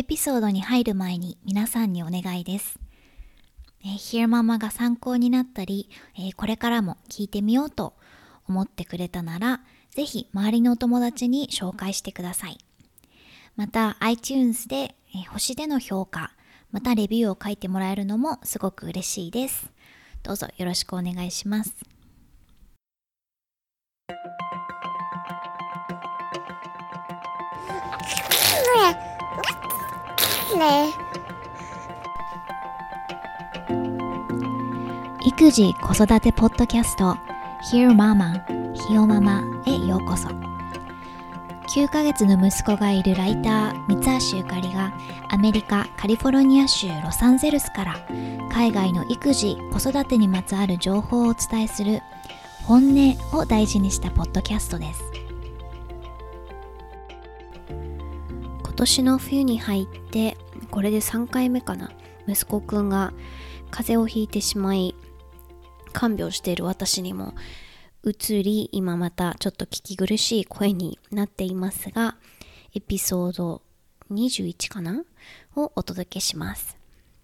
エピソードに入る前に皆さんにお願いです。Hear Mama が参考になったり、これからも聞いてみようと思ってくれたなら、ぜひ周りのお友達に紹介してください。また iTunes で、星での評価、またレビューを書いてもらえるのもすごく嬉しいです。どうぞよろしくお願いします。育児・子育てポッドキャスト Hear Mama ひよママへようこそ。9ヶ月の息子がいるライター三橋ゆかりがアメリカ・カリフォルニア州ロサンゼルスから海外の育児・子育てにまつわる情報をお伝えする本音を大事にしたポッドキャストです。今年の冬に入ってこれで3回目かな、息子くんが風邪をひいてしまい看病している私にも移り、今またちょっと聞き苦しい声になっていますが、エピソード21かなをお届けします。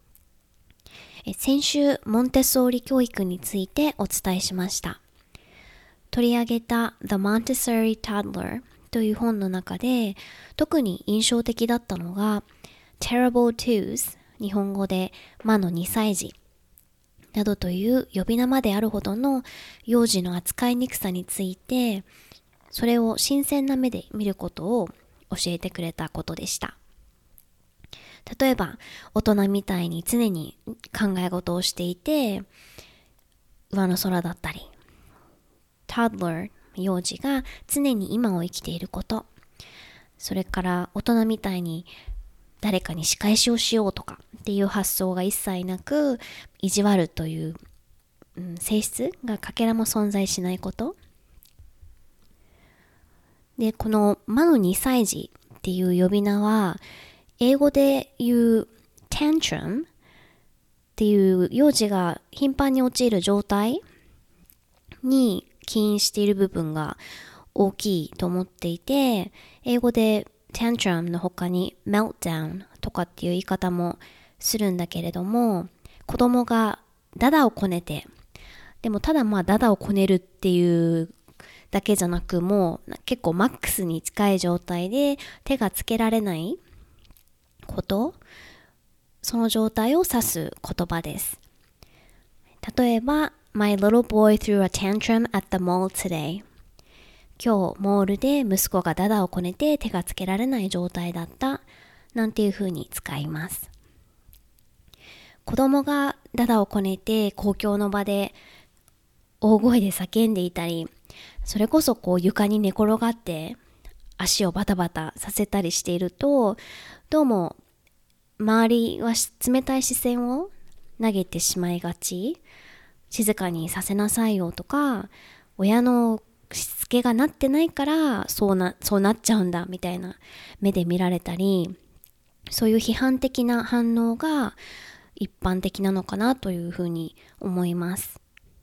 先週モンテッソーリ教育についてお伝えしました。取り上げた The Montessori Toddler という本の中で特に印象的だったのが Terrible Twos、 日本語で魔の2歳児などという呼び名まであるほどの幼児の扱いにくさについて、それを新鮮な目で見ることを教えてくれたことでした。例えば大人みたいに常に考え事をしていて上の空だったり、toddler 幼児が常に今を生きていること、それから大人みたいに誰かに仕返しをしようとかっていう発想が一切なく、意地悪という、性質がかけらも存在しないことで、この魔の2歳児っていう呼び名は英語で言う tantrum っていう幼児が頻繁に陥る状態に起因している部分が大きいと思っていて、英語でtantrum の他に meltdown とかっていう言い方もするんだけれども、子供がダダをこねて、でもただダダをこねるっていうだけじゃなく、もう結構マックスに近い状態で手がつけられないこと、その状態を指す言葉です。例えば My little boy threw a tantrum at the mall today。今日モールで息子がダダをこねて手がつけられない状態だったなんていう風に使います。子供がダダをこねて公共の場で大声で叫んでいたり、それこそ床に寝転がって足をバタバタさせたりしていると、どうも周りは冷たい視線を投げてしまいがち。静かにさせなさいよとか、親のしつけがなってないからそうなっちゃうんだみたいな目で見られたり、そういう批判的な反応が一般的なのかなというふうに思います。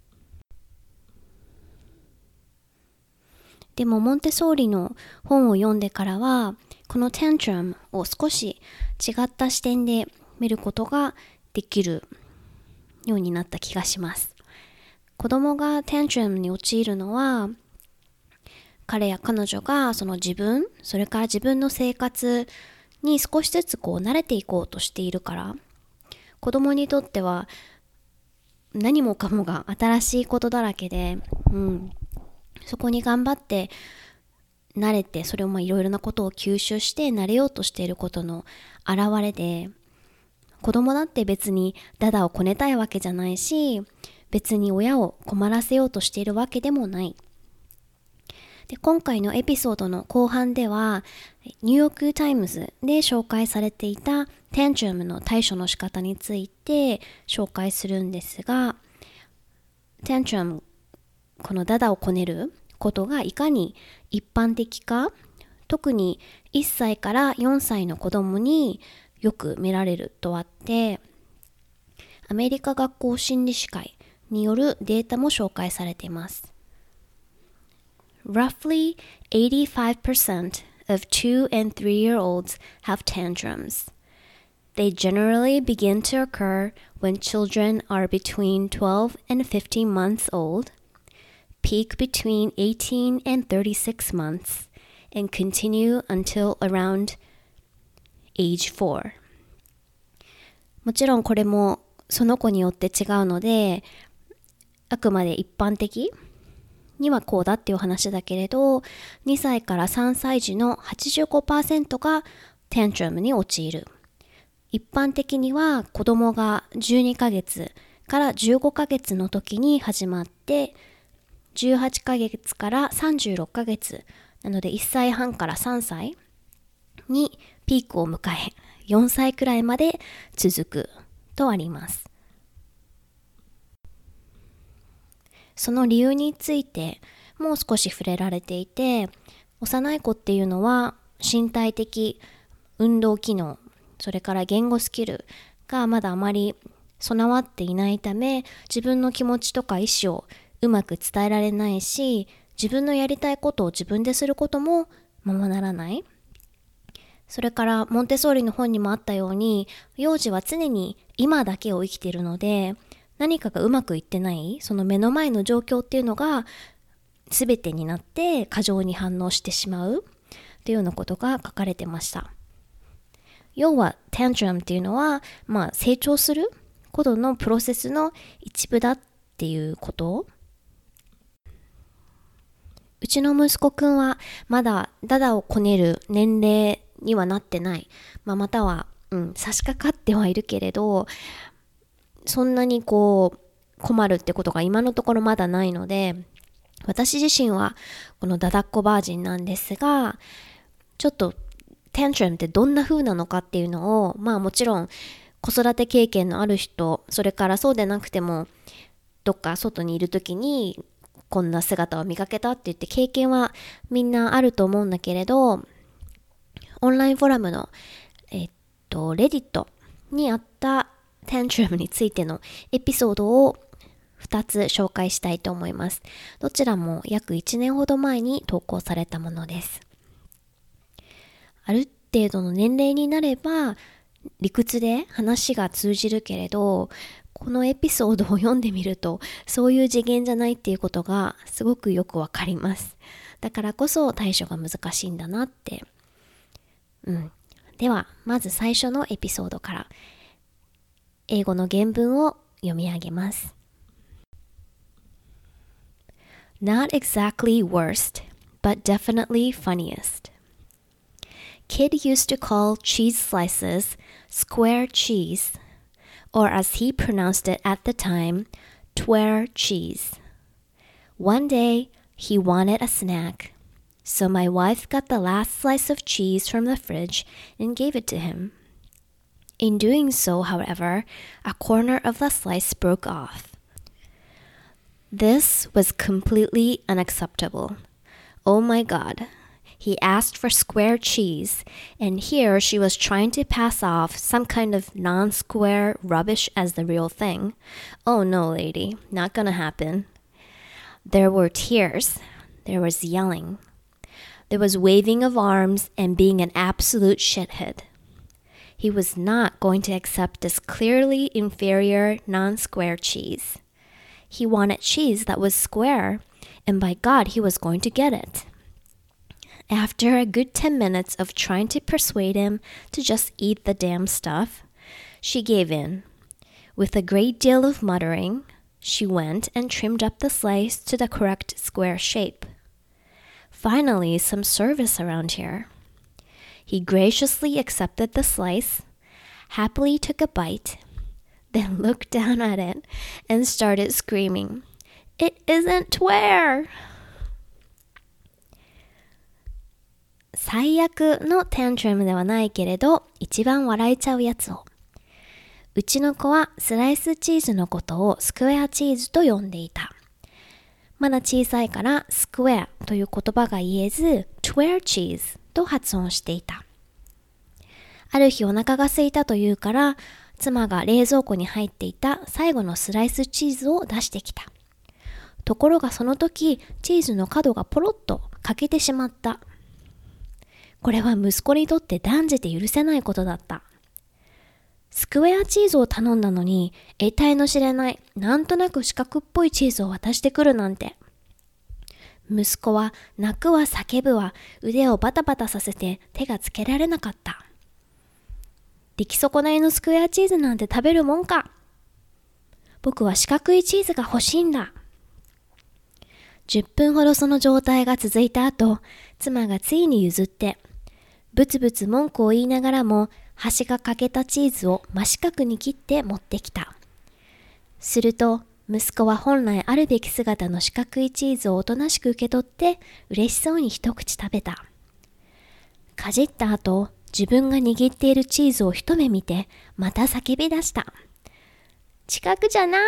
でもモンテソーリの本を読んでからは、このタントラムを少し違った視点で見ることができるようになった気がします。子供がタントラムに陥るのは、彼や彼女がその自分、それから自分の生活に少しずつ慣れていこうとしているから、子供にとっては何もかもが新しいことだらけで、そこに頑張って慣れて、それをいろいろなことを吸収して慣れようとしていることの表れで、子供だって別にダダをこねたいわけじゃないし、別に親を困らせようとしているわけでもない。で、今回のエピソードの後半ではニューヨークタイムズで紹介されていたタントラムの対処の仕方について紹介するんですが、タントラム、このダダをこねることがいかに一般的か、特に1歳から4歳の子供によく見られるとあって、アメリカ学校心理士会によるデータも紹介されています。Roughly 85% of 2 and 3-year-olds have tantrums. They generally begin to occur when children are between 12 and 15 months old, peak between 18 and 36 months, and continue until around age 4. もちろんこれもその子によって違うので、あくまで一般的にはこうだっていう話だけれど、2歳から3歳児の 85% がタントラムに陥る。一般的には子供が12ヶ月から15ヶ月の時に始まって、18ヶ月から36ヶ月なので1歳半から3歳にピークを迎え、4歳くらいまで続くとあります。その理由についてもう少し触れられていて、幼い子っていうのは身体的、運動機能、それから言語スキルがまだあまり備わっていないため、自分の気持ちとか意思をうまく伝えられないし、自分のやりたいことを自分ですることもままならない。それからモンテッソーリの本にもあったように、幼児は常に今だけを生きているので、何かがうまくいってない、その目の前の状況っていうのが全てになって過剰に反応してしまうっていうようなことが書かれてました。要はタントラムっていうのは、成長することのプロセスの一部だっていうこと。うちの息子くんはまだダダをこねる年齢にはなってない。または、差し掛かってはいるけれど、そんなに困るってことが今のところまだないので、私自身はこのダダっ子バージンなんですが、ちょっとタントラムってどんな風なのかっていうのを、もちろん子育て経験のある人、それからそうでなくてもどっか外にいるときにこんな姿を見かけたって言って経験はみんなあると思うんだけれど、オンラインフォーラムのレディットにあったタントラムについてのエピソードを2つ紹介したいと思います。どちらも約1年ほど前に投稿されたものです。ある程度の年齢になれば理屈で話が通じるけれど、このエピソードを読んでみるとそういう次元じゃないっていうことがすごくよくわかります。だからこそ対処が難しいんだなって。ではまず最初のエピソードから英語の原文を読み上げます。Not exactly worst, but definitely funniest.Kid used to call cheese slices square cheese, or as he pronounced it at the time, tware cheese. One day, he wanted a snack, so my wife got the last slice of cheese from the fridge and gave it to him. In doing so, however, a corner of the slice broke off. This was completely unacceptable. Oh my God.He asked for square cheese, and here she was trying to pass off some kind of non-square rubbish as the real thing. Oh no, lady, not gonna happen. There were tears. There was yelling. There was waving of arms and being an absolute shithead. He was not going to accept this clearly inferior non-square cheese. He wanted cheese that was square, and by God, he was going to get it.After a good 10 minutes of trying to persuade him to just eat the damn stuff, she gave in. With a great deal of muttering, she went and trimmed up the slice to the correct square shape. Finally, some service around here. He graciously accepted the slice, happily took a bite, then looked down at it and started screaming, "It isn't tware!" 最悪のタントラムではないけれど一番笑えちゃうやつを。うちの子はスライスチーズのことをスクエアチーズと呼んでいた。まだ小さいからスクエアという言葉が言えずトゥエアチーズと発音していた。ある日お腹が空いたというから妻が冷蔵庫に入っていた最後のスライスチーズを出してきた。ところがその時チーズの角がポロッと欠けてしまった。これは息子にとって断じて許せないことだった。 スクエアチーズを頼んだのに、得体の知れない、なんとなく四角っぽいチーズを渡してくるなんて。息子は泣くわ叫ぶわ、腕をバタバタさせて手がつけられなかった。出来損ないのスクエアチーズなんて食べるもんか。僕は四角いチーズが欲しいんだ。10分ほどその状態が続いた後、妻がついに譲って、ブツブツ文句を言いながらも、端が欠けたチーズを真四角に切って持ってきた。すると、息子は本来あるべき姿の四角いチーズをおとなしく受け取って、嬉しそうに一口食べた。かじった後、自分が握っているチーズを一目見て、また叫び出した。四角じゃない。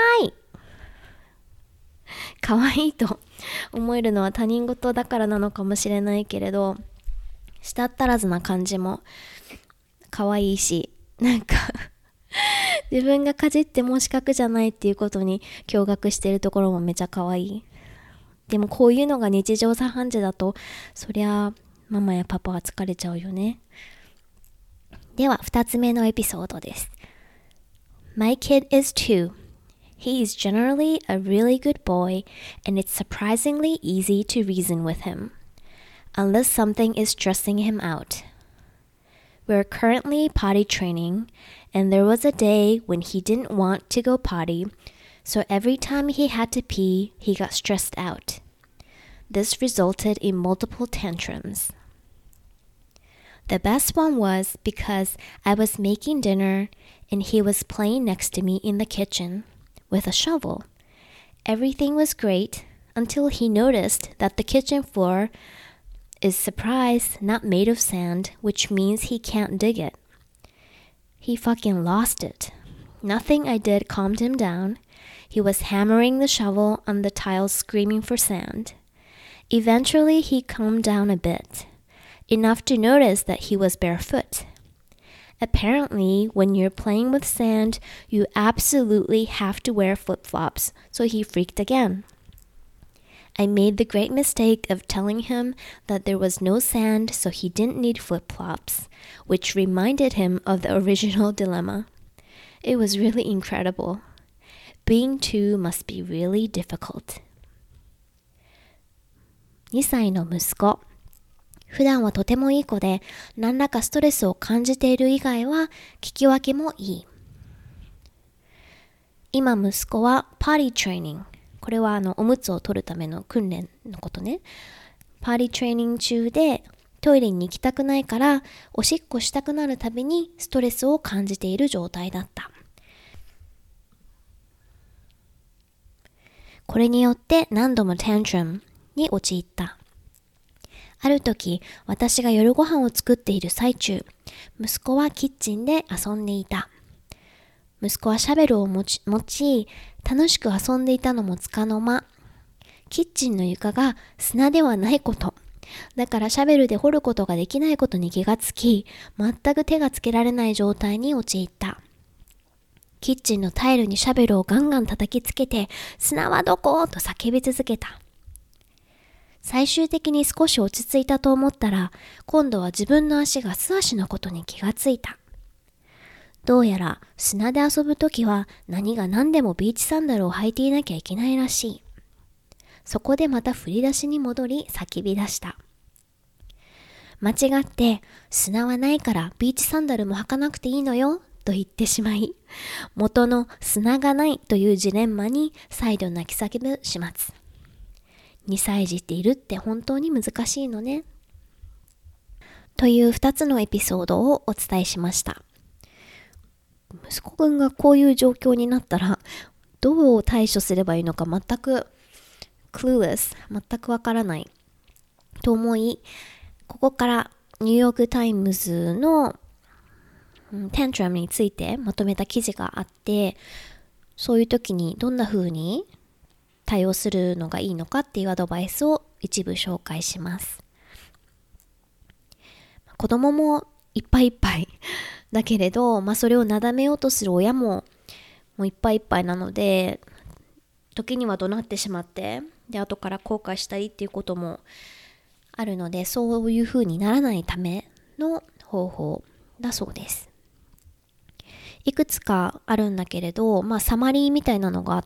可愛いと思えるのは他人事だからなのかもしれないけれど、舌足らずな感じも可愛いし、なんか自分がかじっても四角じゃないっていうことに驚愕してるところもめちゃ可愛い。でもこういうのが日常茶飯事だと、そりゃママやパパは疲れちゃうよね。では2つ目のエピソードです。My kid is 2.He is generally a really good boy, and it's surprisingly easy to reason with him, unless something is stressing him out. We're currently potty training, and there was a day when he didn't want to go potty, so every time he had to pee, he got stressed out. This resulted in multiple tantrums. The best one was because I was making dinner, and he was playing next to me in the kitchen.With a shovel. Everything was great until he noticed that the kitchen floor is, surprise, not made of sand, which means he can't dig it. He fucking lost it. Nothing I did calmed him down. He was hammering the shovel on the tiles, screaming for sand. Eventually, he calmed down a bit, enough to notice that he was barefoot.Apparently, when you're playing with sand, you absolutely have to wear flip-flops, so he freaked again. I made the great mistake of telling him that there was no sand, so he didn't need flip-flops, which reminded him of the original dilemma. It was really incredible. Being 2 must be really difficult. 2歳の息子。普段はとてもいい子で、何らかストレスを感じている以外は聞き分けもいい。今息子はパーティートレーニング。これはおむつを取るための訓練のことね。パーティートレーニング中でトイレに行きたくないからおしっこしたくなるたびにストレスを感じている状態だった。これによって何度もタントラムに陥った。ある時、私が夜ご飯を作っている最中、息子はキッチンで遊んでいた。息子はシャベルを持ち、楽しく遊んでいたのもつかの間。キッチンの床が砂ではないこと。だからシャベルで掘ることができないことに気がつき、全く手がつけられない状態に陥った。キッチンのタイルにシャベルをガンガン叩きつけて、砂はどこ？と叫び続けた。最終的に少し落ち着いたと思ったら、今度は自分の足が素足のことに気がついた。どうやら砂で遊ぶときは何が何でもビーチサンダルを履いていなきゃいけないらしい。そこでまた振り出しに戻り叫び出した。間違って砂はないからビーチサンダルも履かなくていいのよと言ってしまい、元の砂がないというジレンマに再度泣き叫ぶ始末。2歳児っているって本当に難しいのね。という2つのエピソードをお伝えしました。息子くんがこういう状況になったらどう対処すればいいのか全くclueless、全くわからないと思い、ここからニューヨークタイムズのタントラムについてまとめた記事があって、そういう時にどんな風に対応するのがいいのかっていうアドバイスを一部紹介します。子供もいっぱいいっぱいだけれど、それをなだめようとする親ももういっぱいいっぱいなので、時には怒鳴ってしまって、で後から後悔したりっていうこともあるので、そういう風にならないための方法だそうです。 いくつかあるんだけれど、サマリーみたいなのがあって、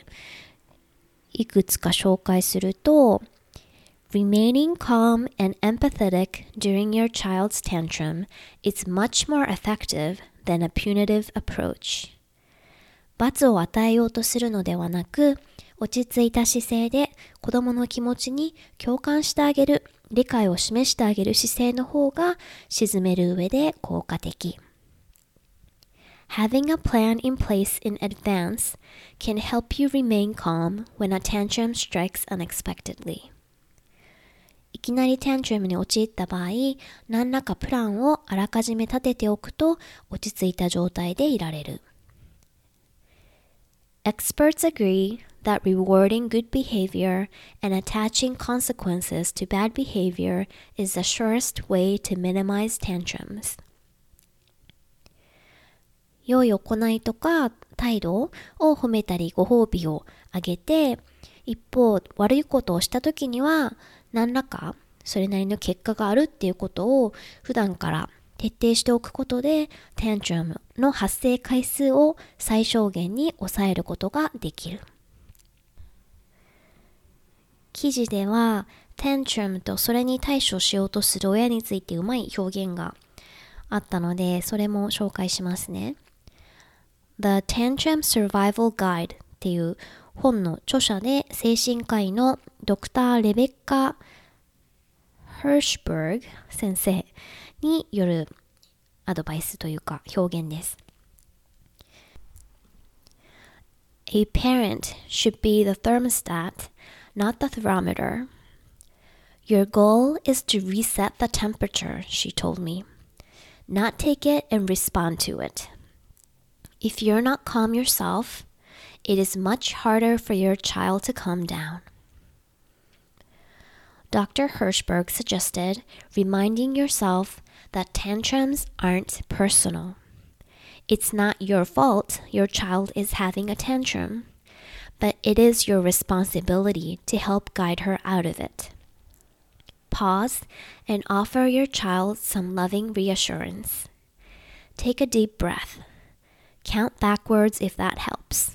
いくつか紹介すると、Remaining calm and empathetic during your child's tantrum is much more effective than a punitive approach. 罰を与えようとするのではなく、落ち着いた姿勢で子供の気持ちに共感してあげる、理解を示してあげる姿勢の方が鎮める上で効果的。Having a plan in place in advance can help you remain calm when a tantrum strikes unexpectedly. いきなりタントラムに陥った場合、何らかプランをあらかじめ立てておくと落ち着いた状態でいられる。Experts agree that rewarding good behavior and attaching consequences to bad behavior is the surest way to minimize tantrums. 良い行いとか態度を褒めたりご褒美をあげて、一方悪いことをした時には何らかそれなりの結果があるっていうことを普段から徹底しておくことでタントラムの発生回数を最小限に抑えることができる。記事ではタントラムとそれに対処しようとする親についてうまい表現があったのでそれも紹介しますね。The Tantrum Survival Guide っていう本の著者で精神科医のドクター・レベッカ・ヒルシュバーグ先生によるアドバイスというか表現です。A parent should be the thermostat, not the thermometer. Your goal is to reset the temperature, she told me. Not take it and respond to it. If you're not calm yourself, it is much harder for your child to calm down. Dr. Hirschberg suggested reminding yourself that tantrums aren't personal. It's not your fault your child is having a tantrum, but it is your responsibility to help guide her out of it. Pause and offer your child some loving reassurance. Take a deep breath. Count backwards if that helps.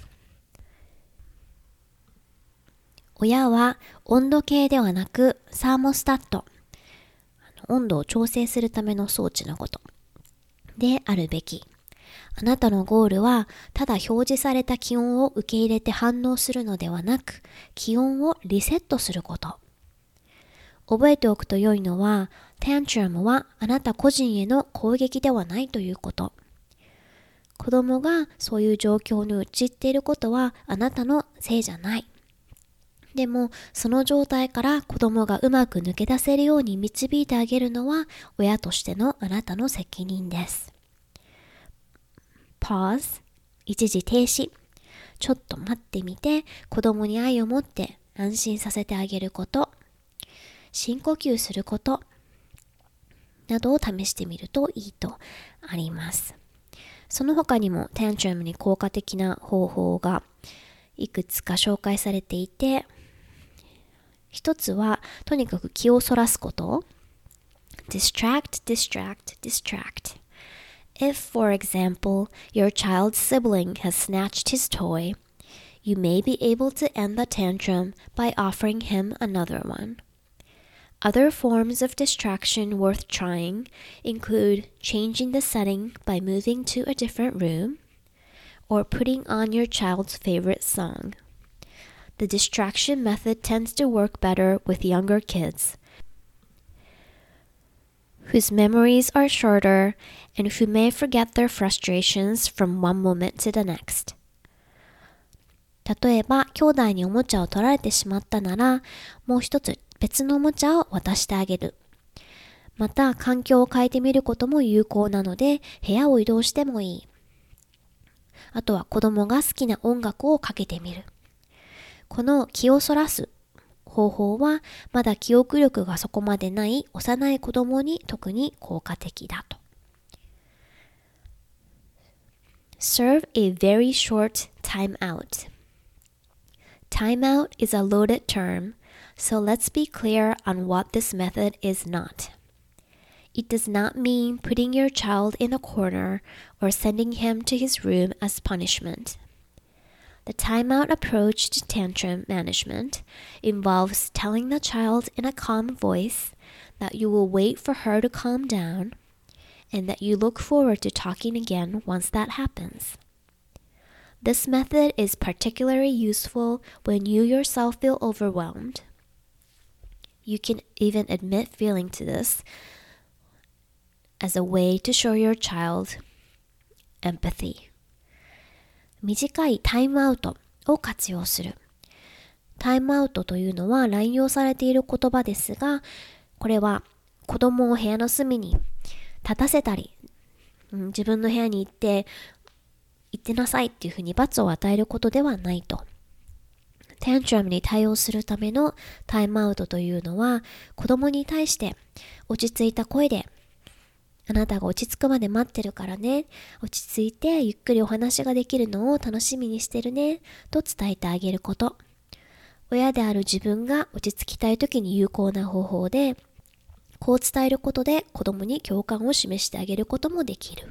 親は温度計ではなくサーモスタット、温度を調整するための装置のことであるべき。あなたのゴールはただ表示された気温を受け入れて反応するのではなく、気温をリセットすること。覚えておくと良いのは、タントラムはあなた個人への攻撃ではないということ。子供がそういう状況に陥っていることはあなたのせいじゃない。でもその状態から子供がうまく抜け出せるように導いてあげるのは親としてのあなたの責任です。Pause 一時停止、ちょっと待ってみて子供に愛を持って安心させてあげること、深呼吸することなどを試してみるといいとあります。その他にもタントラムに効果的な方法がいくつか紹介されていて、一つはとにかく気をそらすこと。Distract, distract, distract. If, for example, your child's sibling has snatched his toy, you may be able to end the tantrum by offering him another one. Other forms of distraction worth trying include changing the setting by moving to a different room or putting on your child's favorite song. The distraction method tends to work better with younger kids, whose memories are shorter and who may forget their frustrations from one moment to the next. 例えば、兄弟におもちゃを取られてしまったなら、もう一つ別のおもちゃを渡してあげる。また、環境を変えてみることも有効なので、部屋を移動してもいい。あとは子供が好きな音楽をかけてみる。この気をそらす方法はまだ記憶力がそこまでない幼い子供に特に効果的だと。Serve a very short time out. Time out is a loaded term, so let's be clear on what this method is not. It does not mean putting your child in a corner or sending him to his room as punishment. The timeout approach to tantrum management involves telling the child in a calm voice that you will wait for her to calm down and that you look forward to talking again once that happens. This method is particularly useful when you yourself feel overwhelmed. You can even admit feeling to this as a way to show your child empathy. 短いタイムアウトを活用する。タイムアウトというのは乱用されている言葉ですが、これは子供を部屋の隅に立たせたり、自分の部屋に行ってなさいっていうふうに罰を与えることではないと。タントラムに対応するためのタイムアウトというのは、子供に対して落ち着いた声で、あなたが落ち着くまで待ってるからね、落ち着いてゆっくりお話ができるのを楽しみにしてるね、と伝えてあげること。親である自分が落ち着きたい時に有効な方法で、こう伝えることで子供に共感を示してあげることもできる。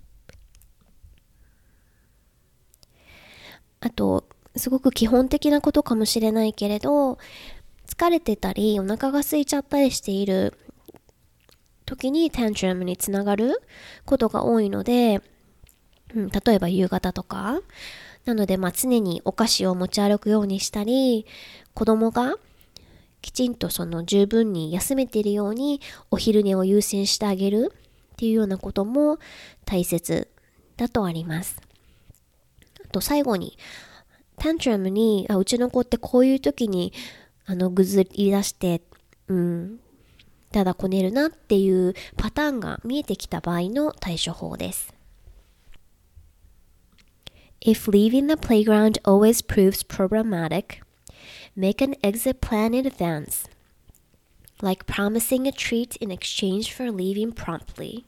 あと、すごく基本的なことかもしれないけれど、疲れてたりお腹が空いちゃったりしている時にタントラムにつながることが多いので、例えば夕方とかなので、常にお菓子を持ち歩くようにしたり、子供がきちんと十分に休めているようにお昼寝を優先してあげるっていうようなことも大切だとあります。あと最後にタントラムにうちの子ってこういう時にぐずり出してただこねるなっていうパターンが見えてきた場合の対処法です。If leaving the playground always proves problematic, make an exit plan in advance, like promising a treat in exchange for leaving promptly.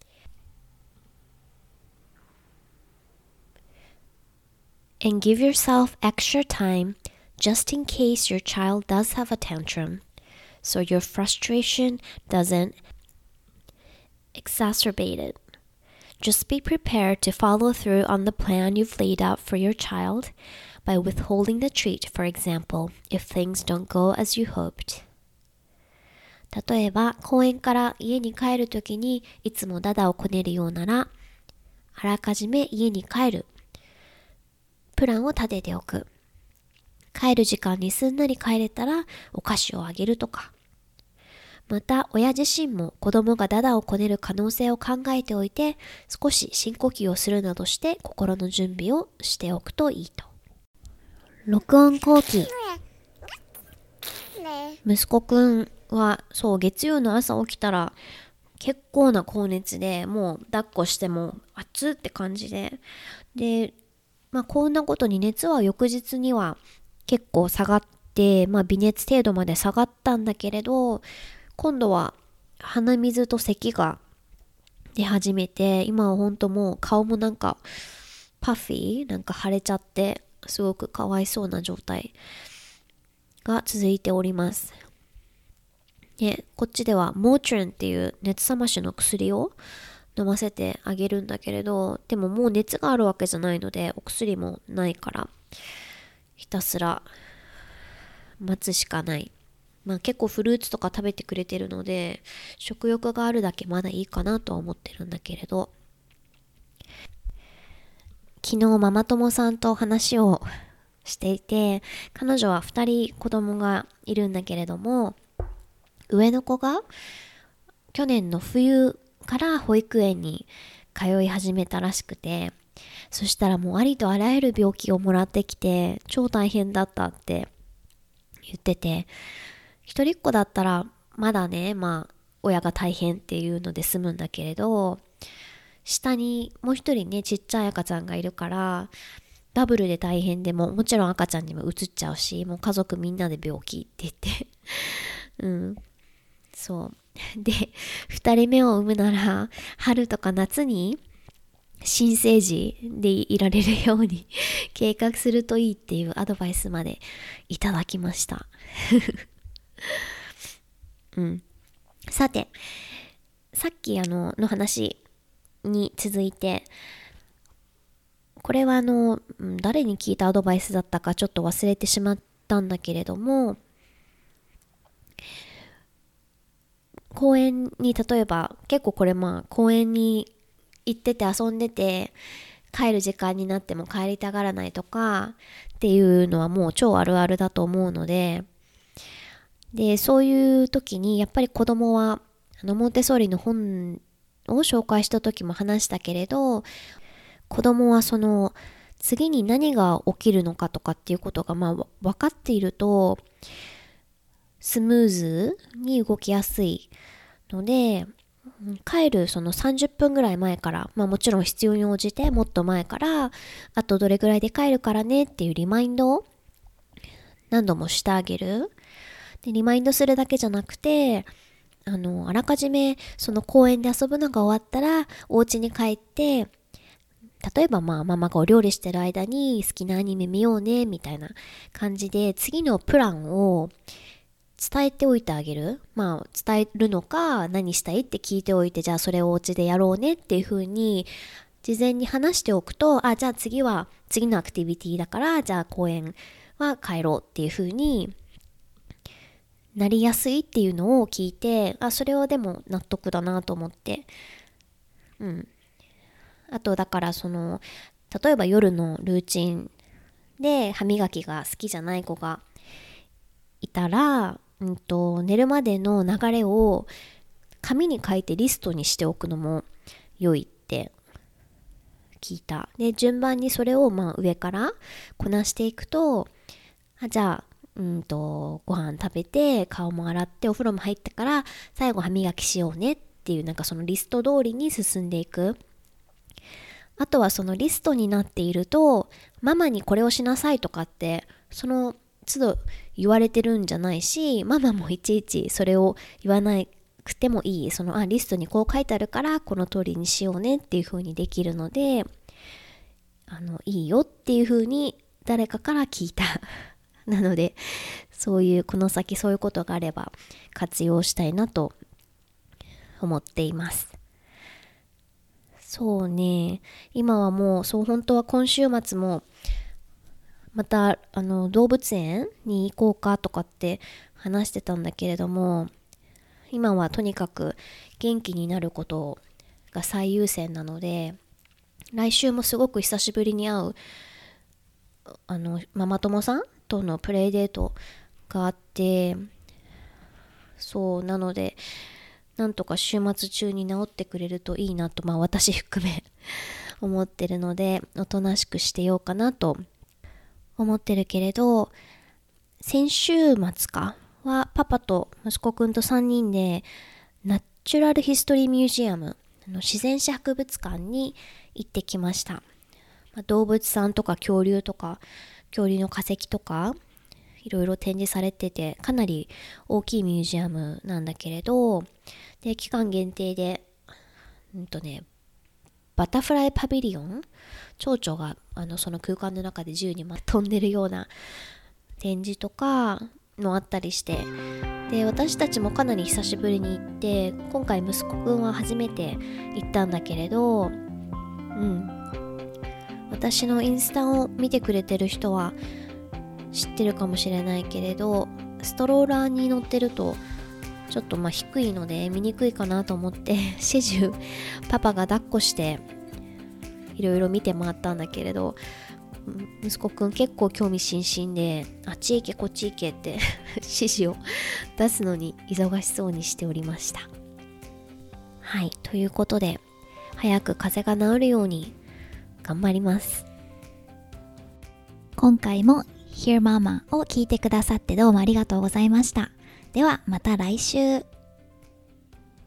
And give yourself extra time just in case your child does have a tantrum, so your frustration doesn't exacerbate it. Just be prepared to follow through on the plan you've laid out for your child by withholding the treat, for example, if things don't go as you hoped. 例えば、公園から家に帰るときにいつもダダをこねるようなら、あらかじめ家に帰るプランを立てておく。帰る時間にすんなり帰れたらお菓子をあげるとか。また親自身も子供がダダをこねる可能性を考えておいて、少し深呼吸をするなどして心の準備をしておくといいと。録音後期。息子くんは月曜の朝起きたら結構な高熱で、もう抱っこしても熱って感じで、こんなことに熱は翌日には結構下がって、微熱程度まで下がったんだけれど、今度は鼻水と咳が出始めて、今は本当もう顔もパフィー腫れちゃって、すごくかわいそうな状態が続いております。こっちではモートリンっていう熱冷ましの薬を飲ませてあげるんだけれど、でももう熱があるわけじゃないのでお薬もないからひたすら待つしかない。結構フルーツとか食べてくれてるので食欲があるだけまだいいかなとは思ってるんだけれど、昨日ママ友さんと話をしていて、彼女は2人子供がいるんだけれども、上の子が去年の冬から保育園に通い始めたらしくて、そしたらもうありとあらゆる病気をもらってきて超大変だったって言ってて、一人っ子だったらまだね、親が大変っていうので済むんだけれど、下にもう一人ねちっちゃい赤ちゃんがいるからダブルで大変で、もちろん赤ちゃんにもうつっちゃうし、もう家族みんなで病気って言ってそうで、2人目を産むなら春とか夏に新生児でいられるように計画するといいっていうアドバイスまでいただきましたさて、 さっきの話に続いて、これは誰に聞いたアドバイスだったかちょっと忘れてしまったんだけれども、公園に例えば結構これ公園に行ってて遊んでて帰る時間になっても帰りたがらないとかっていうのはもう超あるあるだと思うので、そういう時にやっぱり子供はモンテッソーリの本を紹介した時も話したけれど、子供はその次に何が起きるのかとかっていうことが分かっているとスムーズに動きやすいので、帰るその30分ぐらい前から、もちろん必要に応じてもっと前から、あとどれぐらいで帰るからねっていうリマインドを何度もしてあげる。で、リマインドするだけじゃなくて、あらかじめその公園で遊ぶのが終わったらお家に帰って、例えばママがお料理してる間に好きなアニメ見ようねみたいな感じで次のプランを伝えておいてあげる。伝えるのか何したいって聞いておいて、じゃあそれをお家でやろうねっていう風に事前に話しておくと、じゃあ次のアクティビティだから、じゃあ公園は帰ろうっていう風になりやすいっていうのを聞いて、それはでも納得だなと思って。あとだから例えば夜のルーチンで歯磨きが好きじゃない子がいたら、寝るまでの流れを紙に書いてリストにしておくのも良いって聞いた。で、順番にそれを上からこなしていくと、じゃあご飯食べて顔も洗ってお風呂も入ったから最後歯磨きしようねっていう、そのリスト通りに進んでいく。あとはそのリストになっていると、ママにこれをしなさいとかってその都度言われてるんじゃないし、ママもいちいちそれを言わなくてもいい。リストにこう書いてあるからこの通りにしようねっていう風にできるので、いいよっていう風に誰かから聞いたなので、この先そういうことがあれば活用したいなと思っています。そうね、今はもう本当は今週末もまた動物園に行こうかとかって話してたんだけれども、今はとにかく元気になることが最優先なので、来週もすごく久しぶりに会うママ友さんとのプレイデートがあって、なのでなんとか週末中に治ってくれるといいなと、私含め思ってるので、おとなしくしてようかなと思ってるけれど、先週末はパパと息子くんと3人でナチュラルヒストリーミュージアム、自然史博物館に行ってきました。動物さんとか恐竜とか恐竜の化石とかいろいろ展示されてて、かなり大きいミュージアムなんだけれど、で期間限定でバタフライパビリオン、蝶々がその空間の中で自由に飛んでるような展示とかもあったりして、で私たちもかなり久しぶりに行って、今回息子くんは初めて行ったんだけれど、私のインスタを見てくれてる人は知ってるかもしれないけれど、ストローラーに乗ってるとちょっと低いので見にくいかなと思って始終パパが抱っこしていろいろ見て回ったんだけれど、息子くん結構興味津々で、あっち行けこっち行けって指示を出すのに忙しそうにしておりました。はい、ということで早く風邪が治るように頑張ります。 今回も Hear Mama を聞いてくださってどうもありがとうございました。ではまた来週。